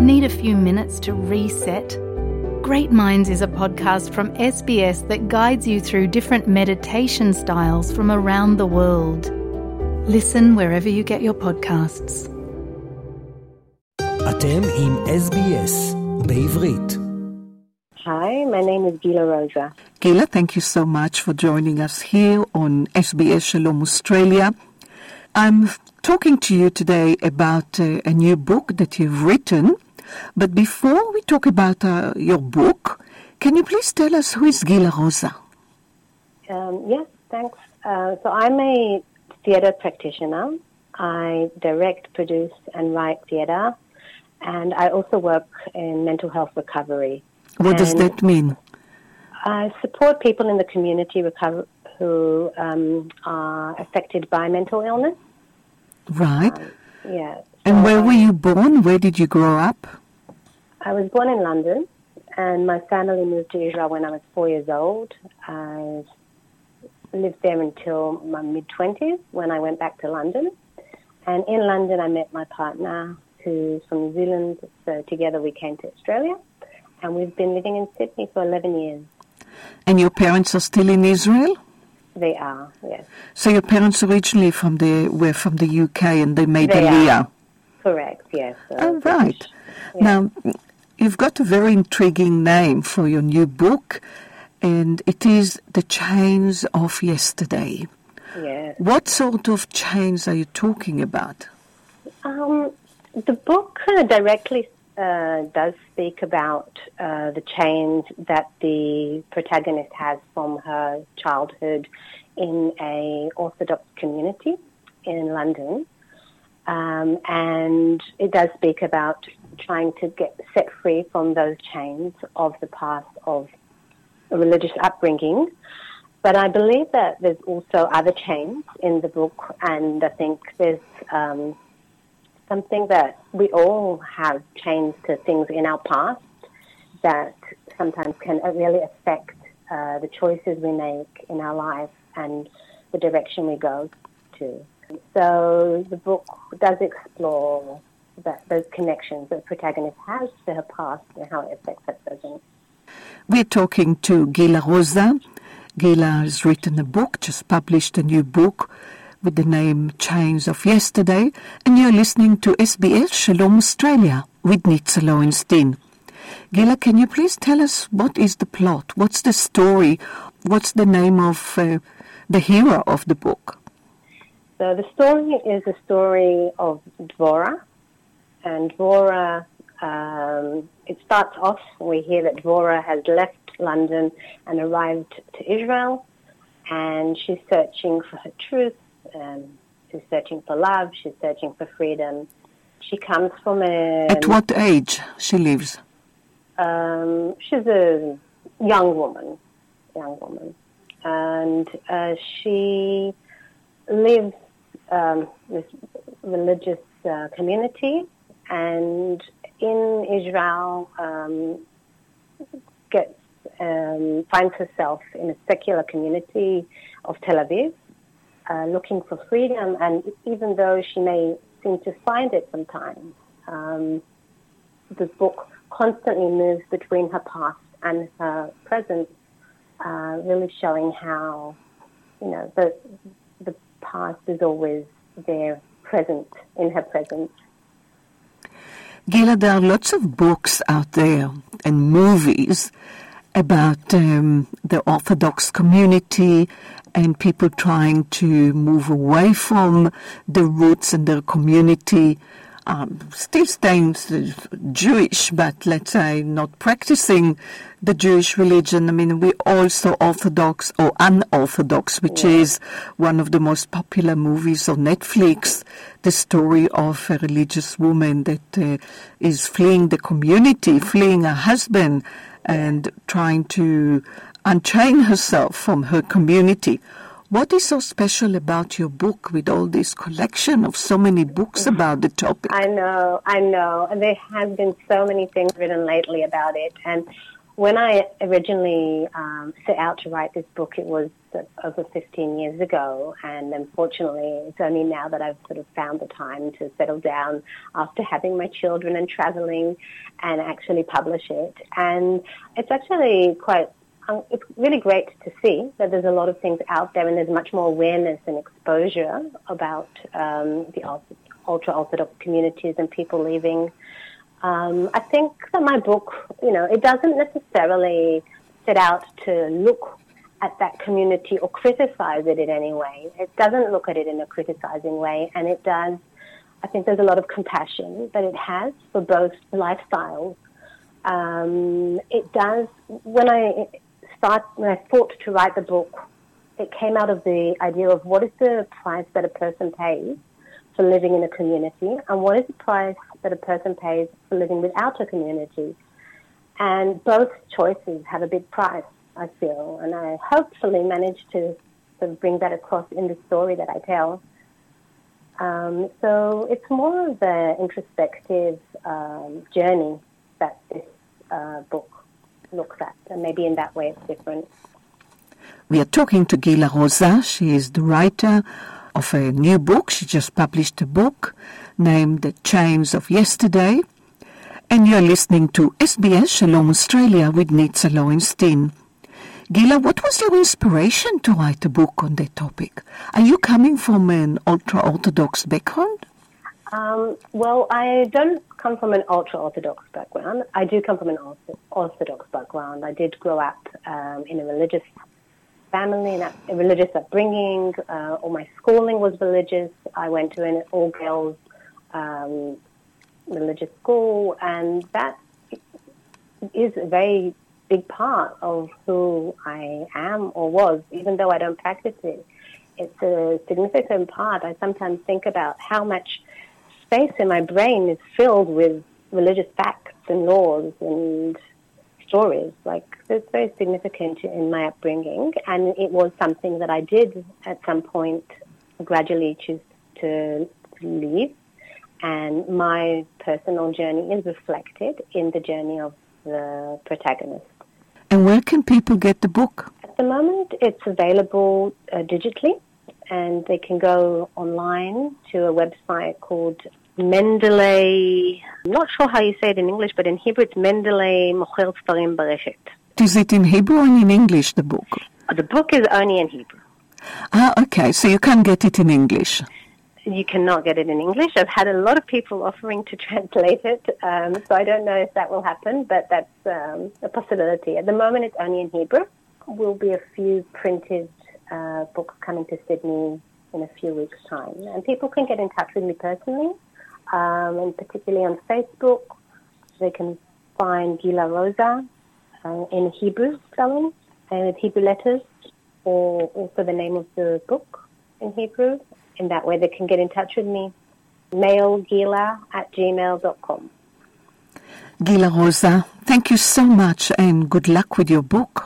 Need a few minutes to reset? Great Minds is a podcast from SBS that guides you through different meditation styles from around the world. Listen wherever you get your podcasts. אתם עם SBS בעברית. Hi, my name is Gila Rosa. Gila, thank you so much for joining us here on SBS Shalom Australia. I'm talking to you today about a new book that you've written. But before we talk about your book, can you please tell us who is Gila Rosa? Yes, thanks. So I'm a theatre practitioner. I direct, produce and write theatre. And I also work in mental health recovery. What does that mean? I support people in the community who are affected by mental illness. Right. Yeah. And where were you born? Where did you grow up? I was born in London, and my family moved to Israel when I was 4 years old. I lived there until my mid-20s when I went back to London. And in London, I met my partner, who's from New Zealand. So together we came to Australia, and we've been living in Sydney for 11 years. And your parents are still in Israel? They are, yes. So your parents originally were from the UK and they made Aliyah? Correct, yes. Oh, right. Yeah. Now, you've got a very intriguing name for your new book, and it is The Chains of Yesterday. Yes. What sort of chains are you talking about? The book directly does speak about the chains that the protagonist has from her childhood in a Orthodox community in London. And it does speak about trying to get set free from those chains of the past of a religious upbringing. But I believe that there's also other chains in the book, and I think there's something that we all have chains to things in our past that sometimes can really affect the choices we make in our life and the direction we go to. So the book does explore those connections that the protagonist has to her past and how it affects her present. We're talking to Gila Rosa. Gila has written a book, just published a new book with the name Chains of Yesterday, and you're listening to SBS Shalom Australia with Nitza Lowenstein. Gila, can you please tell us what is the plot? What's the story? What's the name of the hero of the book? So the story is a story of Dvorah, and Dvorah, it starts off, we hear that Dvorah has left London and arrived to Israel, and she's searching for her truth, she's searching for love, she's searching for freedom. She comes from At what age she lives? She's a young woman, and she lives this religious community, and in Israel finds herself in a secular community of Tel Aviv, looking for freedom. And even though she may seem to find it sometimes, the book constantly moves between her past and her present, really showing how, the past is always there, present, in her present. Gila, there are lots of books out there and movies about the Orthodox community and people trying to move away from the roots and their community, still staying Jewish, but let's say not practicing the Jewish religion. I mean, we're also Orthodox or unorthodox, which is one of the most popular movies on Netflix, the story of a religious woman that is fleeing the community, fleeing her husband, and trying to unchain herself from her community. What is so special about your book with all this collection of so many books about the topic? I know. And there have been so many things written lately about it. And when I originally set out to write this book, it was over 15 years ago, and unfortunately it's only now that I've sort of found the time to settle down after having my children and traveling and actually publish it. And it's actually it's really great to see that there's a lot of things out there and there's much more awareness and exposure about the ultra-Orthodox communities and people leaving. I think that my book, it doesn't necessarily set out to look at that community or criticize it in any way. It doesn't look at it in a criticizing way, and it does. I think there's a lot of compassion that it has for both lifestyles. It does. When I thought to write the book, it came out of the idea of what is the price that a person pays for living in a community, and what is the price that a person pays for living without a community. And both choices have a big price, I feel, and I hopefully managed to sort of bring that across in the story that I tell. So it's more of an introspective journey that this book looks at, and maybe in that way it's different. We are talking to Gila Rosa. She is the writer of a new book. She just published a book named The Chains of Yesterday. And you're listening to SBS Shalom Australia with Nitza Lowenstein. Gila, what was your inspiration to write a book on that topic? Are you coming from an ultra-Orthodox background? Well, I don't come from an ultra-Orthodox background. I do come from an Orthodox background. I did grow up in a religious family and a religious upbringing. All my schooling was religious. I went to an all-girls religious school, and that is a very big part of who I am or was, even though I don't practice it. It's a significant part. I sometimes think about how much space in my brain is filled with religious facts and laws and stories. Like, it's very significant in my upbringing, and it was something that I did at some point gradually choose to leave. And my personal journey is reflected in the journey of the protagonist. And where can people get the book? At the moment, it's available digitally, and they can go online to a website called Mendeley. I'm not sure how you say it in English, but in Hebrew it's Mendeley Mocher Sfarim Bereshet. Is it in Hebrew or in English, the book? The book is only in Hebrew. Okay, so you can't get it in English. You cannot get it in English. I've had a lot of people offering to translate it, so I don't know if that will happen, but that's a possibility. At the moment, it's only in Hebrew. There will be a few printed books coming to Sydney in a few weeks' time. And people can get in touch with me personally, and particularly on Facebook. They can find Gila Rosa in Hebrew spelling and with Hebrew letters, or also the name of the book in Hebrew. In that way, they can get in touch with me. mailgila@gmail.com. Gila Rosa, thank you so much and good luck with your book.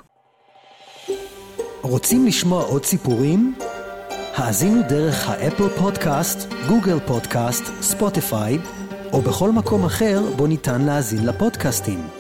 רוצים לשמוע עוד סיפורים? האזינו דרך האפל פודקאסט, גוגל פודקאסט, ספוטיפיי, או בכל מקום אחר בו ניתן להאזין לפודקאסטים.